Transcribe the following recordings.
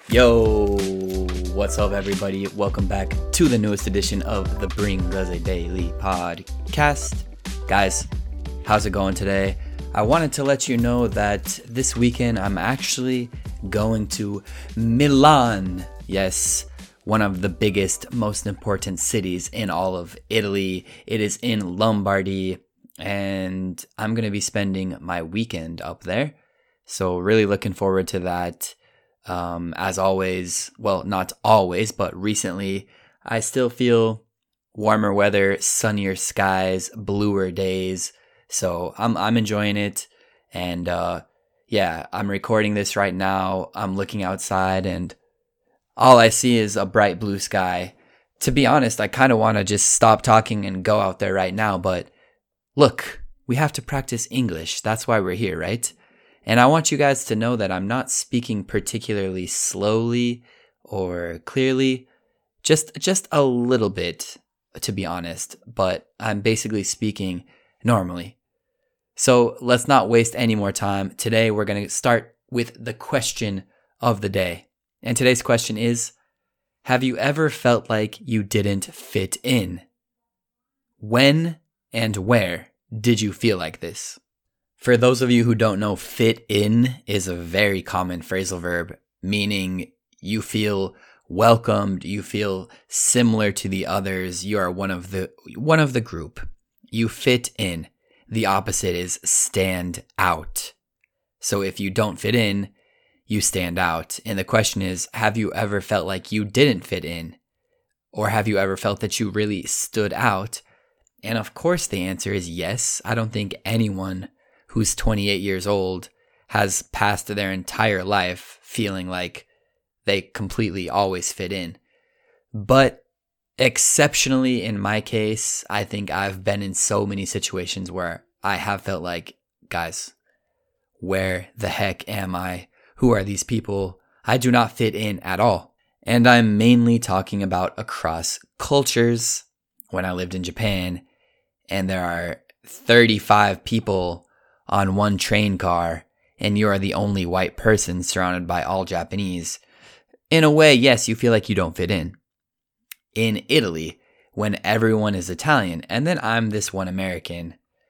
Yo, what's up, everybody? Welcome back to the newest edition of the Bring Gaze Daily podcast. Guys, how's it going today? I wanted to let you know that this weekend I'm actually going to Milan. Yes, one of the biggest, most important cities in all of Italy. It is in Lombardy, and I'm going to be spending my weekend up there. So really looking forward to that. As always, well, not always, but recently, I still feel warmer weather, sunnier skies, bluer days. So I'm enjoying it. And yeah, I'm recording this right now. I'm looking outside and all I see is a bright blue sky. To be honest, I kind of want to just stop talking and go out there right now. But look, we have to practice English. That's why we're here, right? And I want you guys to know that I'm not speaking particularly slowly or clearly, just a little bit, to be honest, but I'm basically speaking normally. So let's not waste any more time. Today we're going to start with the question of the day. And today's question is, have you ever felt like you didn't fit in? When and where did you feel like this? For those of you who don't know, fit in is a very common phrasal verb, meaning you feel welcomed, you feel similar to the others, you are one of the group. You fit in. The opposite is stand out. So if you don't fit in, you stand out. And the question is, have you ever felt like you didn't fit in? Or have you ever felt that you really stood out? And of course the answer is yes. I don't think anyone who's 28 years old has passed their entire life feeling like they completely always fit in. But exceptionally in my case, I think I've been in so many situations where I have felt like, guys, where the heck am I? Who are these people? I do not fit in at all. And I'm mainly talking about across cultures. When I lived in Japan and there are 35 people on one train car and you are the only white person surrounded by all Japanese, in a way, yes, you feel like you don't fit in. In Italy, when everyone is Italian and then I'm this one American,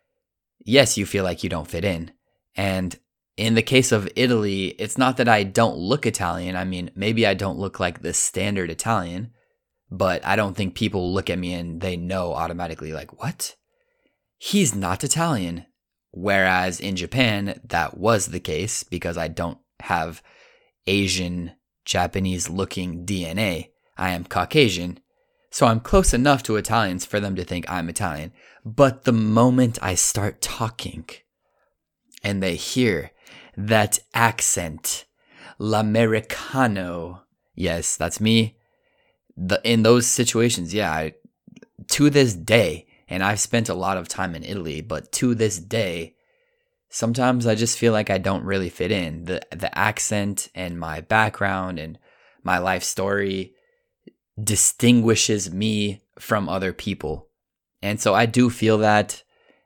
yes, you feel like you don't fit in. And in the case of Italy, it's not that I don't look Italian. I mean, maybe I don't look like the standard Italian, but I don't think people look at me and they know automatically like, what? He's not Italian. Whereas in Japan, that was the case because I don't have Asian, Japanese looking DNA. I am Caucasian. So I'm close enough to Italians for them to think I'm Italian. But the moment I start talking and they hear that accent, l'americano, yes, that's me. In those situations, yeah, to this day, and I've spent a lot of time in Italy, but to this day, sometimes I just feel like I don't really fit in. The accent and my background and my life story distinguishes me from other people. And so I do feel that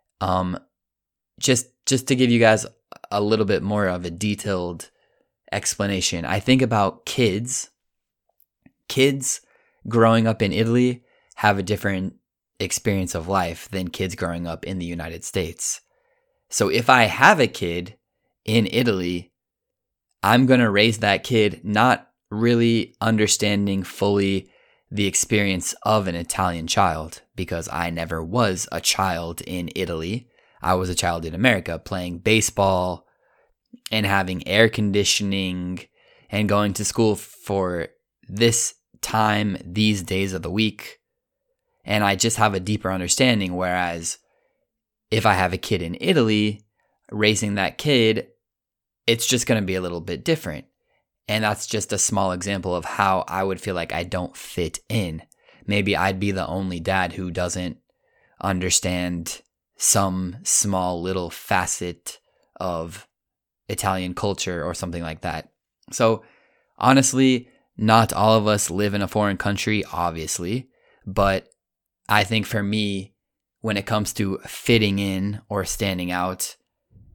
just to give you guys a little bit more of a detailed explanation, I think about kids. Kids growing up in Italy have a different experience of life than kids growing up in the United States. So if I have a kid in Italy, I'm going to raise that kid not really understanding fully the experience of an Italian child because I never was a child in Italy. I was a child in America playing baseball and having air conditioning and going to school for this time, these days of the week. And I just have a deeper understanding. Whereas if I have a kid in Italy, raising that kid, it's just going to be a little bit different. And that's just a small example of how I would feel like I don't fit in. Maybe I'd be the only dad who doesn't understand some small little facet of Italian culture or something like that. So honestly, not all of us live in a foreign country, obviously, but I think for me, when it comes to fitting in or standing out,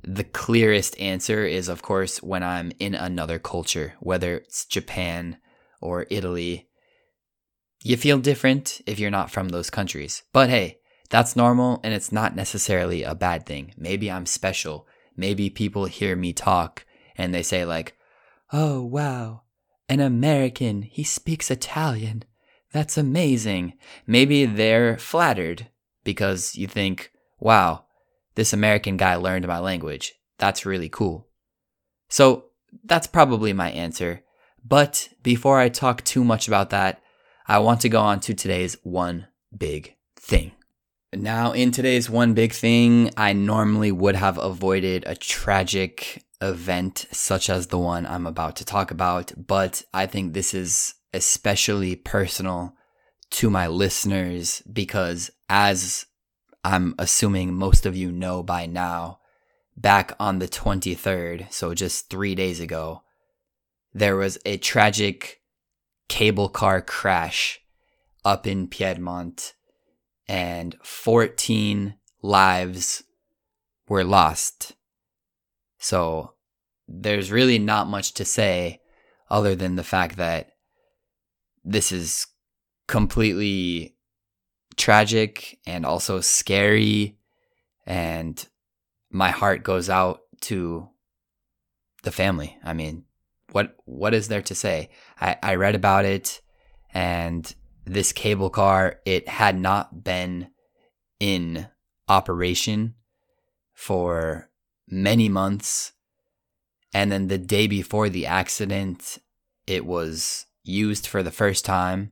the clearest answer is, of course, when I'm in another culture, whether it's Japan or Italy. You feel different if you're not from those countries. But hey, that's normal and it's not necessarily a bad thing. Maybe I'm special. Maybe people hear me talk and they say like, oh, wow, an American, he speaks Italian. That's amazing. Maybe they're flattered because you think, wow, this American guy learned my language. That's really cool. So that's probably my answer. But before I talk too much about that, I want to go on to today's one big thing. Now, in today's one big thing, I normally would have avoided a tragic event such as the one I'm about to talk about, but I think this is especially personal to my listeners because, as I'm assuming most of you know by now, back on the 23rd, so just 3 days ago, there was a tragic cable car crash up in Piedmont, and 14 lives were lost. So there's really not much to say other than the fact that this is completely tragic and also scary, and my heart goes out to the family. I mean, what is there to say? I read about it, and this cable car, it had not been in operation for many months. And then the day before the accident, it was used for the first time.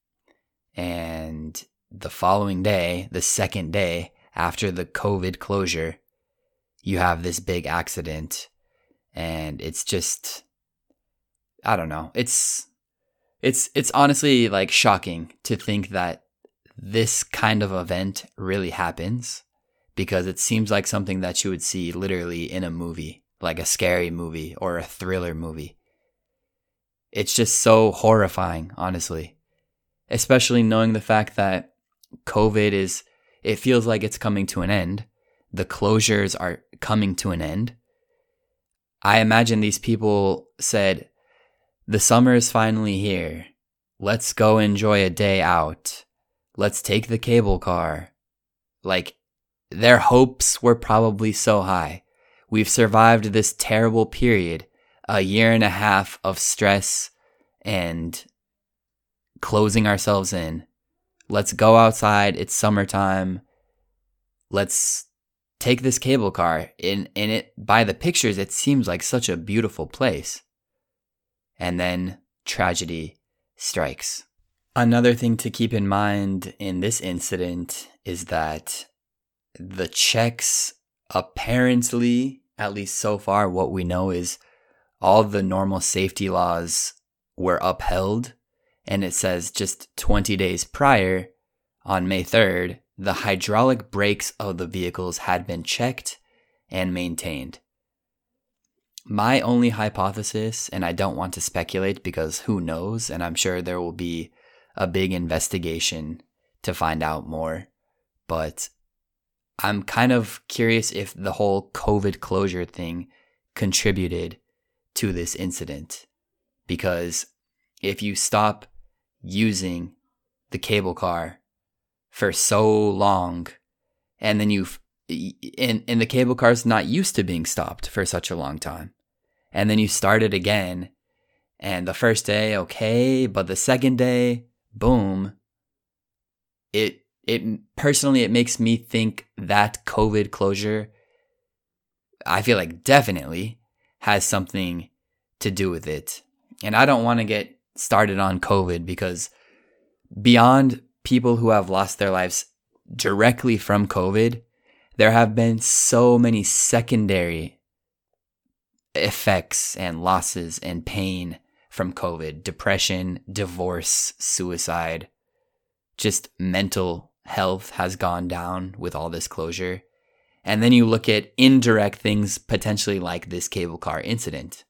And the following day, the second day after the COVID closure, you have this big accident. And it's just, I don't know. It's honestly like shocking to think that this kind of event really happens, because it seems like something that you would see literally in a movie, like a scary movie or a thriller movie. It's just so horrifying, honestly, especially knowing the fact that COVID it feels like it's coming to an end. The closures are coming to an end. I imagine these people said, the summer is finally here. Let's go enjoy a day out. Let's take the cable car. Like, their hopes were probably so high. We've survived this terrible period, a year and a half of stress and closing ourselves in. Let's go outside. It's summertime. Let's take this cable car. In it, by the pictures, it seems like such a beautiful place. And then tragedy strikes. Another thing to keep in mind in this incident is that the checks, apparently, at least so far, what we know is all the normal safety laws were upheld. And it says just 20 days prior, on May 3rd, the hydraulic brakes of the vehicles had been checked and maintained. My only hypothesis, and I don't want to speculate because who knows, and I'm sure there will be a big investigation to find out more, but I'm kind of curious if the whole COVID closure thing contributed to this incident. Because if you stop using the cable car for so long, and then and the cable car's not used to being stopped for such a long time, and then you start it again, and the first day, okay, but the second day, boom. It personally, it makes me think that COVID closure, I feel like definitely has something to do with it. And I don't want to get started on COVID, because beyond people who have lost their lives directly from COVID, there have been so many secondary effects and losses and pain from COVID. Depression, divorce, suicide, just mental health has gone down with all this closure. And then you look at indirect things potentially like this cable car incident.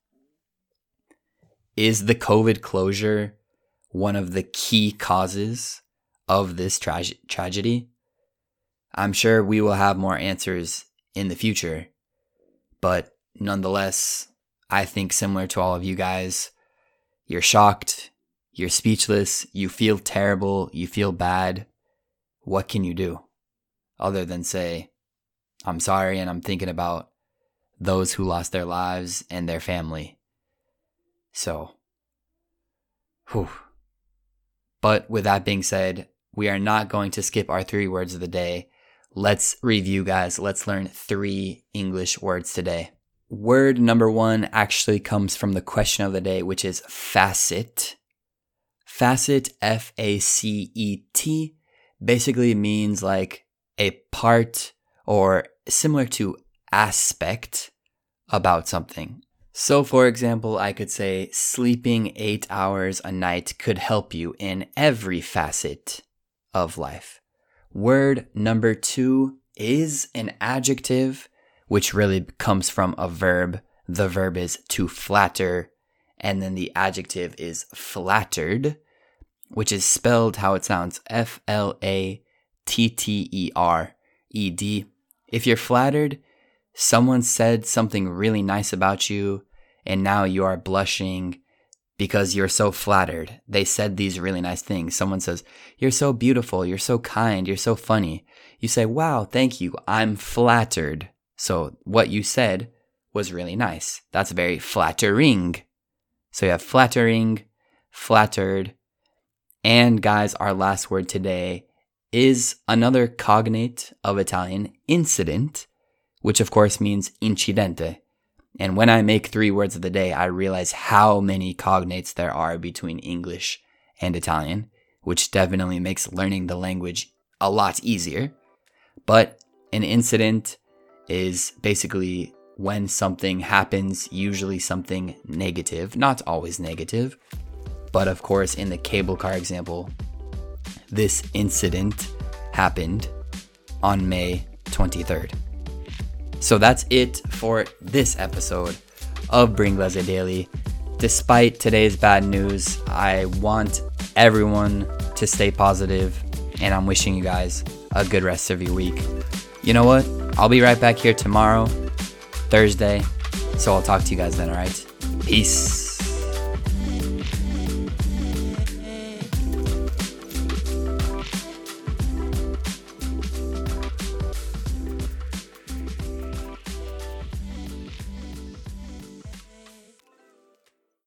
Is the COVID closure one of the key causes of this tragedy? I'm sure we will have more answers in the future, But nonetheless, I think similar to all of you guys, you're shocked, you're speechless, you feel terrible, you feel bad. What can you do other than say, I'm sorry and I'm thinking about those who lost their lives and their family. So, But with that being said, we are not going to skip our 3 words of the day. Let's review, guys. Let's learn 3 English words today. Word number 1 actually comes from the question of the day, which is facet. Facet, F-A-C-E-T, basically means like a part or similar to aspect about something. So for example, I could say sleeping 8 hours a night could help you in every facet of life. Word number 2 is an adjective, which really comes from a verb. The verb is to flatter, and then the adjective is flattered, which is spelled how it sounds, F-L-A-T-T-E-R-E-D. If you're flattered, someone said something really nice about you, and now you are blushing because you're so flattered. They said these really nice things. Someone says, you're so beautiful, you're so kind, you're so funny. You say, wow, thank you, I'm flattered. So what you said was really nice. That's very flattering. So you have flattering, flattered, and guys, our last word today is another cognate of Italian, incident, which of course means incidente. And when I make 3 words of the day, I realize how many cognates there are between English and Italian, which definitely makes learning the language a lot easier. But an incident is basically when something happens, usually something negative, not always negative. But of course, in the cable car example, this incident happened on May 23rd. So that's it for this episode of Bringlese Daily. Despite today's bad news, I want everyone to stay positive, and I'm wishing you guys a good rest of your week. You know what? I'll be right back here tomorrow, Thursday, so I'll talk to you guys then, alright? Peace.